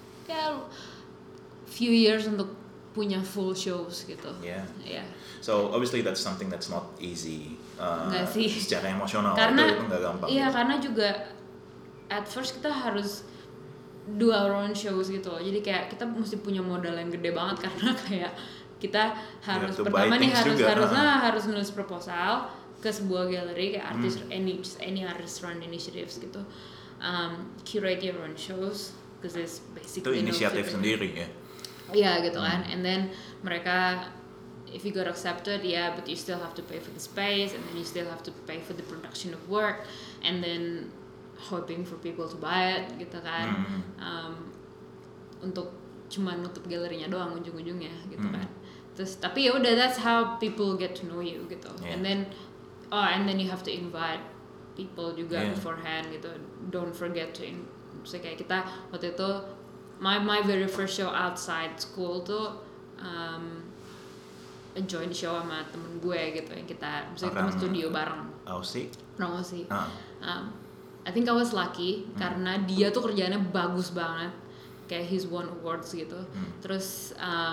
few years untuk punya full shows gitu. Yeah. Yeah. So obviously that's something that's not easy. Nggak sih. Secara emosional Karena itu nggak gampang. iya, karena juga at first kita harus do our own shows gitu loh. Jadi kayak kita mesti punya modal yang gede banget karena kayak kita harus to pertama buy nih things juga, harus nulis proposal ke sebuah galeri kayak artis any artist run initiatives gitu. Curate your own shows because it's Itu basically inisiatif sendiri ya. Iya gitu kan, and then mereka if you got accepted, yeah, but you still have to pay for the space, and then you still have to pay for the production of work, and then hoping for people to buy it gitu kan, untuk cuma nutup galerinya doang ujung-ujungnya gitu kan. Terus tapi ya udah, that's how people get to know you gitu, and then you have to invite people juga beforehand gitu. Don't forget to so kayak kita waktu itu my very first show outside school tuh a joint show sama temen gue gitu, yang kita misalnya kita studio bareng. Aussie. I think I was lucky karena dia tuh kerjaannya bagus banget, kayak he's won awards gitu. Terus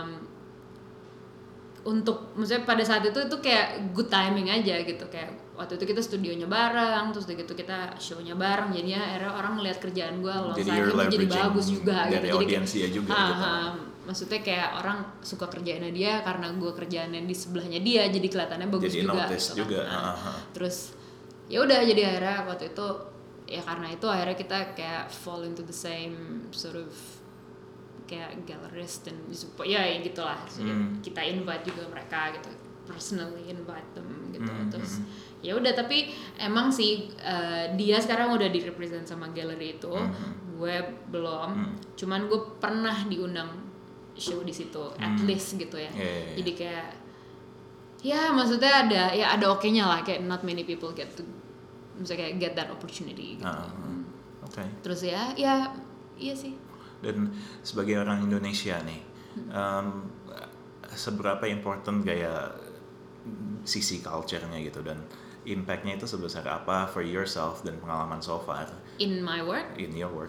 untuk maksudnya pada saat itu kayak good timing aja gitu, kayak waktu itu kita studionya bareng, terus gitu kita shownya bareng, jadinya akhirnya orang ngeliat kerjaan gue alongside jadi bagus juga dari gitu. audiensnya juga gitu. Maksudnya kayak orang suka kerjaannya dia karena gue kerjaannya di sebelahnya dia, jadi kelihatannya bagus jadi juga notice gitu juga. kan. Terus ya udah, jadi akhirnya waktu itu ya karena itu akhirnya kita kayak fall into the same sort of kayak gallerist, dan ya gitulah. Kita invite juga mereka gitu, personally invite them gitu. Terus ya udah, tapi emang sih dia sekarang udah direpresent sama galeri itu, gue belum. Cuman gue pernah diundang show di situ at least gitu ya. Yeah. Jadi kayak ya maksudnya ada oke-nya lah, kayak not many people get to misalnya kayak get that opportunity gitu. Oke. Terus iya sih. Dan sebagai orang Indonesia nih, seberapa important kayak sisi culture-nya gitu, dan impact-nya itu sebesar apa for yourself dan pengalaman so far In my work? in your work?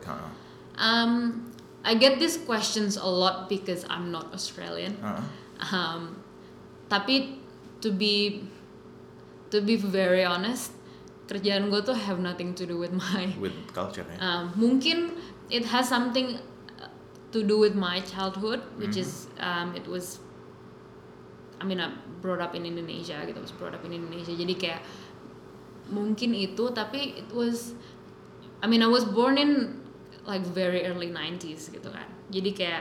I get these questions a lot because I'm not Australian. Tapi to be very honest, kerjaan gue tuh have nothing to do with culture ya? Mungkin it has something to do with my childhood, which is it was I brought up in Indonesia gitu, jadi kayak mungkin itu, tapi it was I was born in like very early 90s gitu kan, jadi kayak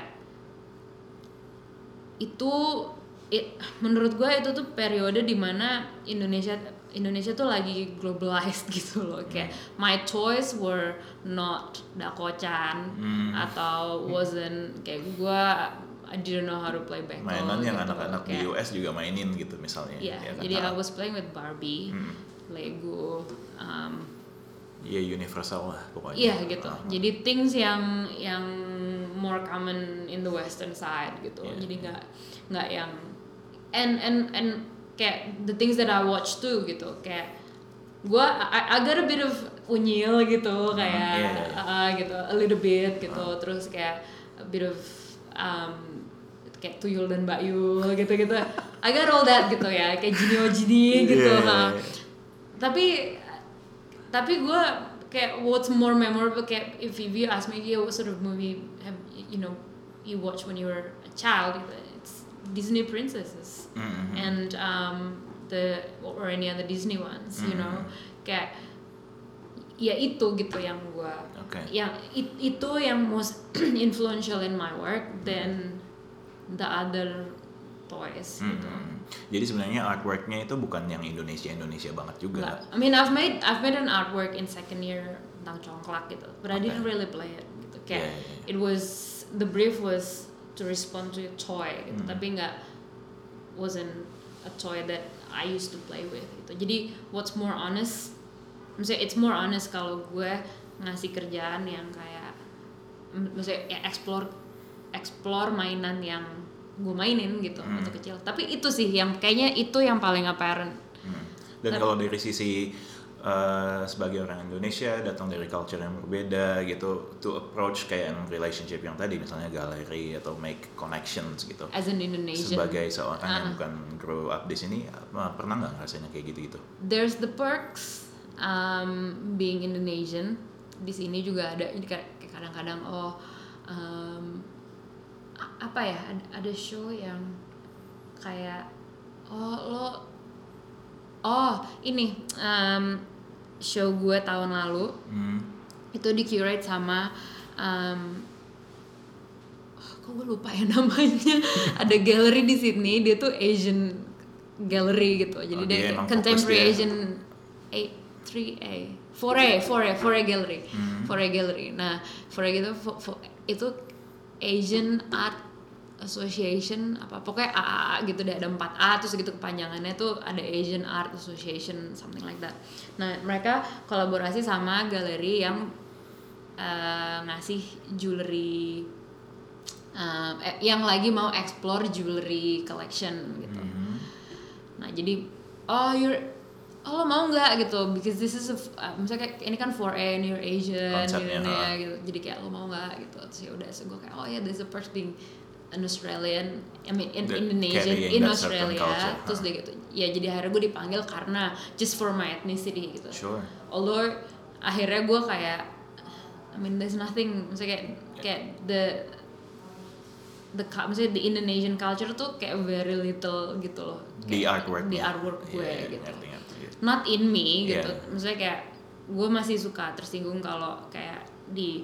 itu menurut gue itu tuh periode dimana Indonesia tuh lagi globalized gitu loh, kayak my toys were not Dako-chan atau wasn't kayak gue I didn't know how to play backgammon. Mainan yang gitu. anak-anak di US juga mainin gitu misalnya. Iya, ya kan? jadi I was playing with Barbie, Lego, ya universal lah pokoknya. iya gitu. Jadi things yang more common in the western side gitu. Jadi nggak yang and kayak the things that I watch too gitu, kayak I got a bit of unyil gitu, kayak gitu a little bit gitu, terus kayak a bit of kayak Tuyul dan Mbak Yul gitu-gitu. I got all that gitu ya, kayak Jini gitu. Tapi gue kayak what's more memorable, kayak if you ask me what sort of movie have you watch when you were a child, it's Disney princesses and or any other Disney ones, you know, kayak ya itu gitu yang gue yang itu yang most influential in my work than the other toys gitu. Jadi sebenarnya artworknya itu bukan yang Indonesia banget juga. I've made an artwork in second year tentang congklak gitu, but I didn't really play it gitu. Kayak it was, the brief was to respond to a toy gitu, tapi wasn't a toy that I used to play with gitu. Jadi what's more honest, maksudnya it's more honest kalau gue ngasih kerjaan yang kayak maksudnya ya explore mainan yang gue mainin gitu waktu kecil. Tapi itu sih yang kayaknya itu yang paling apparent. Dan kalau dari sisi sebagai orang Indonesia datang dari culture yang berbeda gitu, to approach kayak relationship yang tadi misalnya galeri atau make connections gitu. As an Indonesian, sebagai seorang yang bukan grow up di sini, pernah nggak rasanya kayak gitu-gitu? There's the perks being Indonesian. Di sini juga ada kadang-kadang apa ya, ada show yang kayak ini show gue tahun lalu itu di curate sama kok gue lupa ya namanya. Ada gallery di Sydney, dia tuh Asian gallery gitu, jadi dia contemporary Asian 4A gallery. 4A gallery. Nah, 4A gitu itu Asian Art Association apa pokoknya AAA gitu deh, ada 4A terus gitu kepanjangannya tuh ada Asian Art Association, something like that. Nah, mereka kolaborasi sama galeri yang ngasih jewelry yang lagi mau explore jewelry collection gitu. Nah, jadi lo mau nggak gitu, because this is misalnya kayak ini kan 4A and you're Asian gitu ya gitu, jadi kayak lo mau nggak gitu. Terus ya udah, so gue kayak there's a perk being an Australian, Indonesian in Australia culture, terus dia gitu ya, jadi akhirnya gue dipanggil karena just for my ethnicity gitu. Sure. Although akhirnya gue kayak there's nothing, misalnya kayak misalnya the Indonesian culture tuh kayak very little gitu loh, di artwork gue gitu. Not in me gitu. Misalnya kayak gue masih suka tersinggung kalau kayak di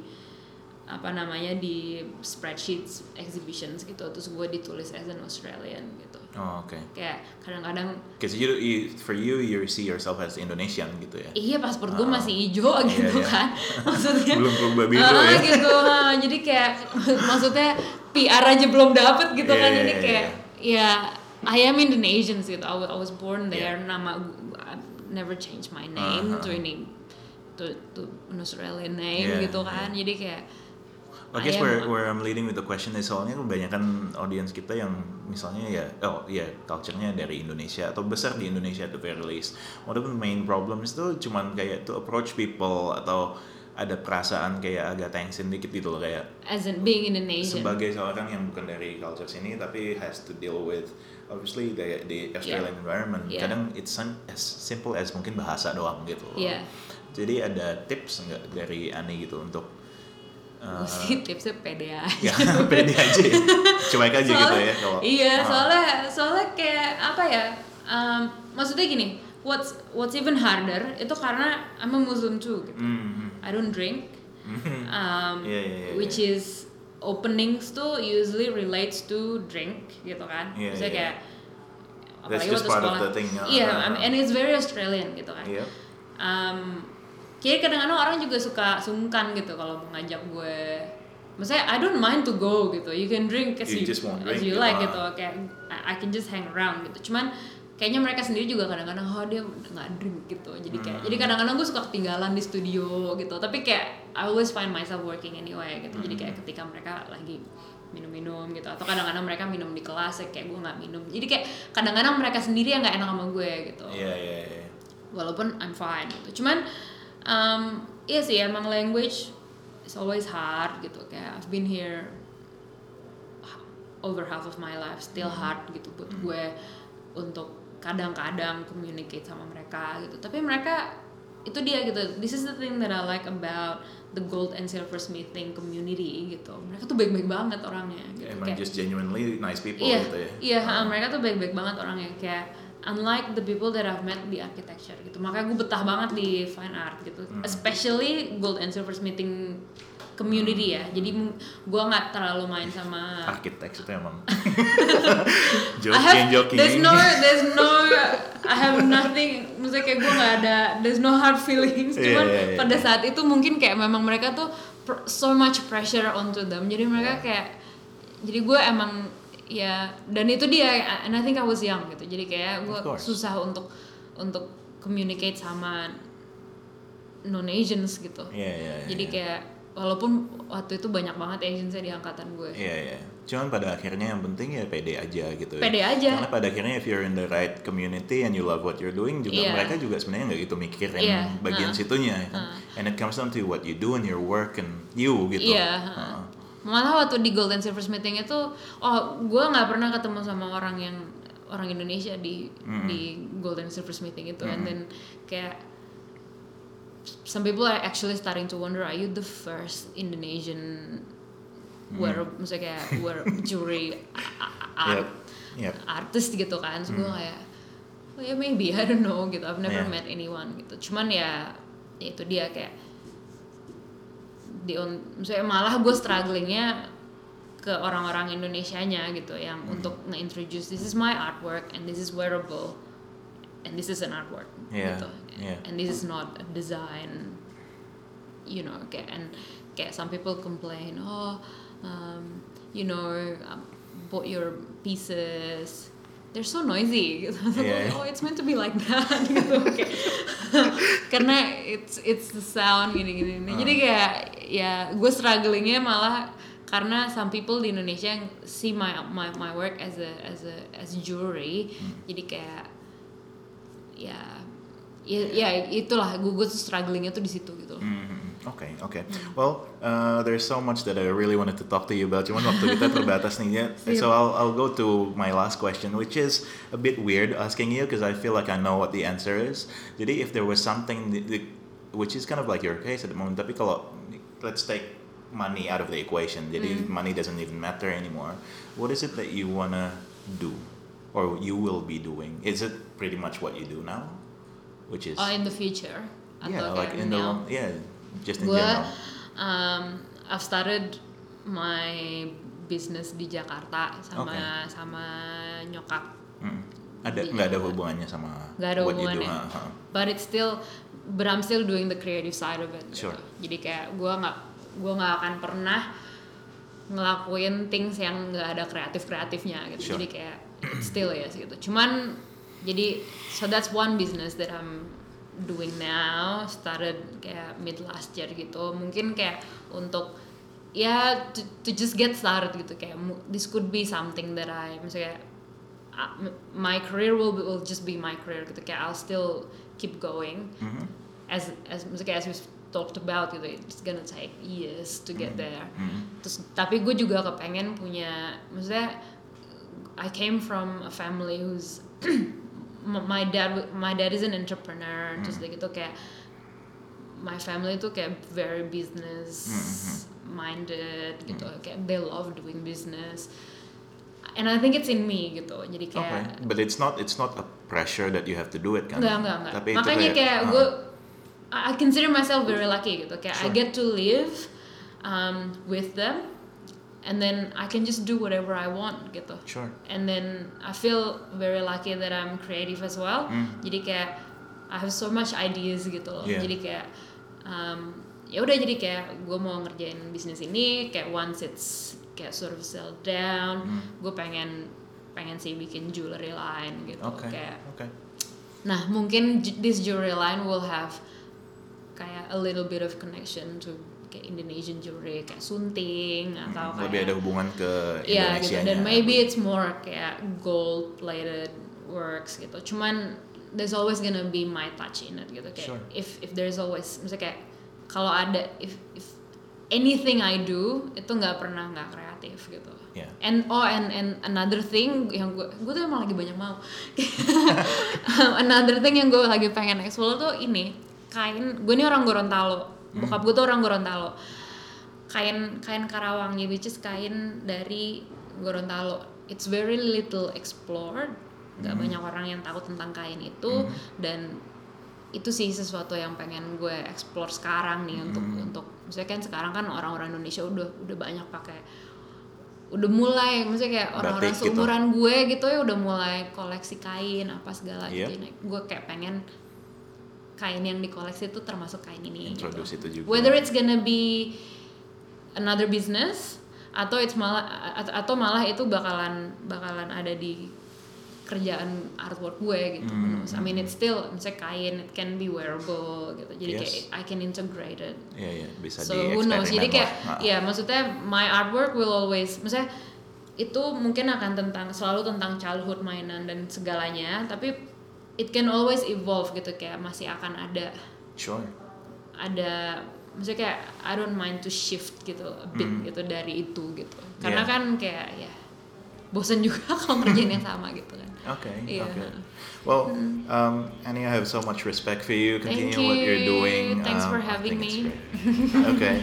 di spreadsheets exhibitions gitu, terus gue ditulis as an Australian gitu. Kayak kadang-kadang because for you see yourself as Indonesian gitu ya. Iya, paspor gue masih hijau gitu kan. Maksudnya belum berubah biru ya. Gitu. Jadi kayak maksudnya PR aja belum dapet gitu kan. Yeah, Ini yeah, kayak yeah. ya I am Indonesian gitu. I was born there. Yeah. Nama I never change my name to ini to an Australian name Yeah, gitu kan. yeah. Jadi kayak I guess where I'm leading with the question is soalnya kebanyakan audience kita yang misalnya culture-nya dari Indonesia atau besar di Indonesia at the very least. One of the main problems itu cuman kayak to approach people atau ada perasaan kayak agak tengsin dikit gitu loh, kayak as in being Indonesian. sebagai seorang yang bukan dari culture sini tapi has to deal with obviously the Australian environment. Yeah. Kadang it's as simple as mungkin bahasa doang gitu loh. Yeah. Jadi ada tips nggak dari Ani gitu untuk Gue sih tipsnya pede aja. ya pede aja ya. Cuek aja gitu ya kalau iya soalnya kayak apa ya, maksudnya gini, what's even harder itu karena I'm a Muslim too gitu. I don't drink, which is openings tuh usually relates to drink gitu kan. Maksudnya kayak that's apalagi just waktu part sekolah, of the thing. and it's very Australian gitu kan. Yep. Kayak kadang-kadang orang juga suka sungkan gitu kalau mau ngajak gue. Maksudnya I don't mind to go gitu. You can drink as you like gitu. Kayak I can just hang around gitu. Cuman kayaknya mereka sendiri juga kadang-kadang dia nggak drink gitu. Jadi kadang-kadang gue suka ketinggalan di studio gitu. Tapi kayak I always find myself working anyway gitu. Jadi kayak ketika mereka lagi minum-minum gitu, atau kadang-kadang mereka minum di kelas kayak gue nggak minum. Jadi kayak kadang-kadang mereka sendiri yang nggak enak sama gue gitu. Iya. Walaupun I'm fine gitu. Cuman iya sih emang language is always hard gitu. Kayak I've been here over half of my life, still hard gitu buat gue untuk kadang-kadang communicate sama mereka gitu. Tapi mereka itu dia gitu. This is the thing that I like about the gold and silver smithing community gitu. Mereka tuh baik-baik banget orangnya gitu. Emang just genuinely nice people iya, gitu ya. Iya, mereka tuh baik-baik banget orangnya, kayak unlike the people that I've met di architecture gitu. Makanya gue betah banget di fine art gitu. Especially gold and silver smithing community ya. Jadi gue nggak terlalu main sama architect itu emang joking. There's no I have nothing, maksudnya kayak gue nggak ada, there's no hard feelings. Cuman pada saat itu mungkin kayak memang mereka tuh so much pressure onto them. Jadi mereka kayak, jadi gue emang ya, dan itu dia, and I think I was young gitu. Jadi kayak gue susah untuk communicate sama non-Asians gitu. Jadi kayak walaupun waktu itu banyak banget Asians di angkatan gue. Iya. Cuman pada akhirnya yang penting ya pede aja gitu. Pede aja. Karena pada akhirnya if you're in the right community and you love what you're doing juga mereka juga sebenarnya nggak gitu mikirin bagian situnya kan. And it comes down to what you do and your work and you gitu. Malah waktu di Gold and Silver Smithing itu, gue nggak pernah ketemu sama orang Indonesia di Gold and Silver Smithing itu, and then kayak some people are actually starting to wonder, are you the first Indonesian maksudnya kayak jury artist gitu kan? So gue kayak, maybe I don't know gitu, I've never met anyone gitu. Cuman ya itu dia kayak misalnya malah gue strugglingnya ke orang-orang Indonesianya gitu yang untuk nge-introduce this is my artwork and this is wearable and this is an artwork gitu, and this is not a design, you know, kayak some people complain, bought your pieces, they're so noisy gitu. It's meant to be like that gitu. Karena it's the sound gini. Jadi kayak ya gue strugglingnya malah karena some people di Indonesia yang see my work as jewelry. Jadi kayak ya itulah gue tuh strugglingnya tuh di situ gitu. Okay. Well, there's so much that I really wanted to talk to you about. Cuman waktu kita terbatas nih. So I'll go to my last question, which is a bit weird asking you because I feel like I know what the answer is. Jadi if there was something which is kind of like your case at the moment, tapi kalau let's take money out of the equation, jadi money doesn't even matter anymore. What is it that you wanna do, or you will be doing? Is it pretty much what you do now, which is in the future? Yeah, like in the just in gue, general. I've started my business di Jakarta sama nyokap. Nggak ada hubungannya sama nggak ada what hubungannya. you do. But I'm still doing the creative side of it. Sure. Gitu. Jadi kayak gue nggak akan pernah ngelakuin things yang nggak ada kreatifnya gitu. Sure. Jadi kayak still yes gitu. Cuman jadi so that's one business that I'm doing now, started kayak mid last year gitu. Mungkin kayak untuk ya to just get started gitu, kayak this could be something that misalnya my career will just be my career gitu, kayak I'll still keep going as misalnya as we talked about gitu, it's gonna take years to get there. Terus tapi gue juga kepengen punya, maksudnya I came from a family who's my dad is an entrepreneur, terus gitu kayak my family tuh kayak very business minded gitu, kayak they love doing business, and I think it's in me gitu. Jadi kayak but it's not a pressure that you have to do it kan? Enggak. Tapi makanya itu kayak gue I consider myself very lucky gitu, kayak Sure. I get to live with them, and then I can just do whatever I want gitu. Sure. And then I feel very lucky that I'm creative as well. Jadi kayak I have so much ideas gitu loh. Yeah. Jadi kayak ya udah, jadi kayak gue mau ngerjain bisnis ini, kayak once it's kayak sort of settled down, gue pengen sih bikin jewelry line gitu. Kayak nah mungkin this jewelry line will have kayak a little bit of connection to kayak Indonesian jewelry, kayak sunting atau kayak lebih ada hubungan ke ya Indonesia gitu. Dan maybe it's more kayak gold plated works gitu. Cuman there's always gonna be my touch in it gitu, kayak Sure. if there's always, misalnya kayak kalau ada if anything I do itu nggak pernah nggak kreatif gitu. Yeah. And another thing yang gue tuh emang lagi banyak mau another thing yang gue lagi pengen explore tuh ini kain. Gue ini orang Gorontalo, bokap gue tuh orang Gorontalo, kain Karawang, which is kain dari Gorontalo. It's very little explored, nggak banyak orang yang tahu tentang kain itu, dan itu sih sesuatu yang pengen gue explore sekarang nih untuk misalnya kan sekarang kan orang-orang Indonesia udah banyak pakai, udah mulai misalnya kayak orang-orang batik seumuran gue gitu ya udah mulai koleksi kain apa segala gitu. Nah, gue kayak pengen kain yang dikoleksi itu termasuk kain ini introduce gitu. itu juga. Whether it's gonna be another business atau malah itu bakalan ada di kerjaan artwork gue gitu. I mean it's still misalnya kain, it can be wearable gitu. Jadi kayak I can integrate it. Iya, bisa So who knows? Jadi kayak ya maksudnya my artwork will always, misalnya itu mungkin akan selalu tentang childhood, mainan dan segalanya, tapi it can always evolve gitu, kayak masih akan ada. Sure. Ada maksudnya kayak I don't mind to shift gitu a bit gitu dari itu gitu. Karena kan kayak ya bosan juga kalau ngerjain yang sama gitu kan. Okay. Well, Annie, I have so much respect for you. Continue what you're doing. Thanks for having me. Okay.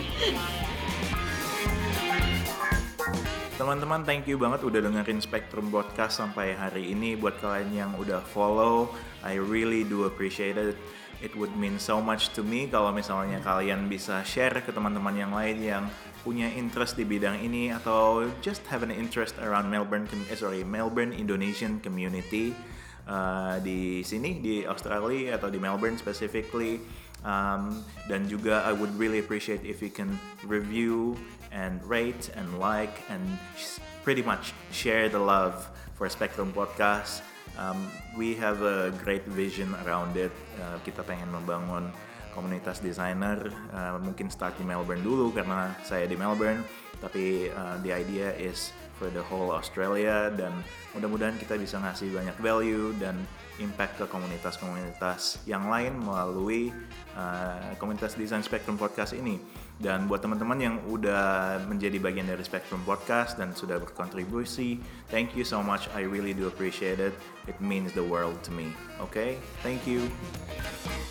Teman-teman, thank you banget udah dengerin Spectrum Podcast sampai hari ini. Buat kalian yang udah follow, I really do appreciate it. It would mean so much to me kalau misalnya kalian bisa share ke teman-teman yang lain yang punya interest di bidang ini atau just have an interest around Melbourne Indonesian community di sini di Australia atau di Melbourne specifically. Dan juga I would really appreciate if you can review and rate and like and pretty much share the love for Spectrum Podcast. We have a great vision around it. Kita pengen membangun komunitas desainer, mungkin start di Melbourne dulu karena saya di Melbourne, tapi the idea is for the whole Australia, dan mudah-mudahan kita bisa ngasih banyak value dan impact ke komunitas-komunitas yang lain melalui komunitas desain Spectrum Podcast ini. Dan buat teman-teman yang udah menjadi bagian dari Spectrum Podcast dan sudah berkontribusi, thank you so much. I really do appreciate it. It means the world to me. Okay? Thank you.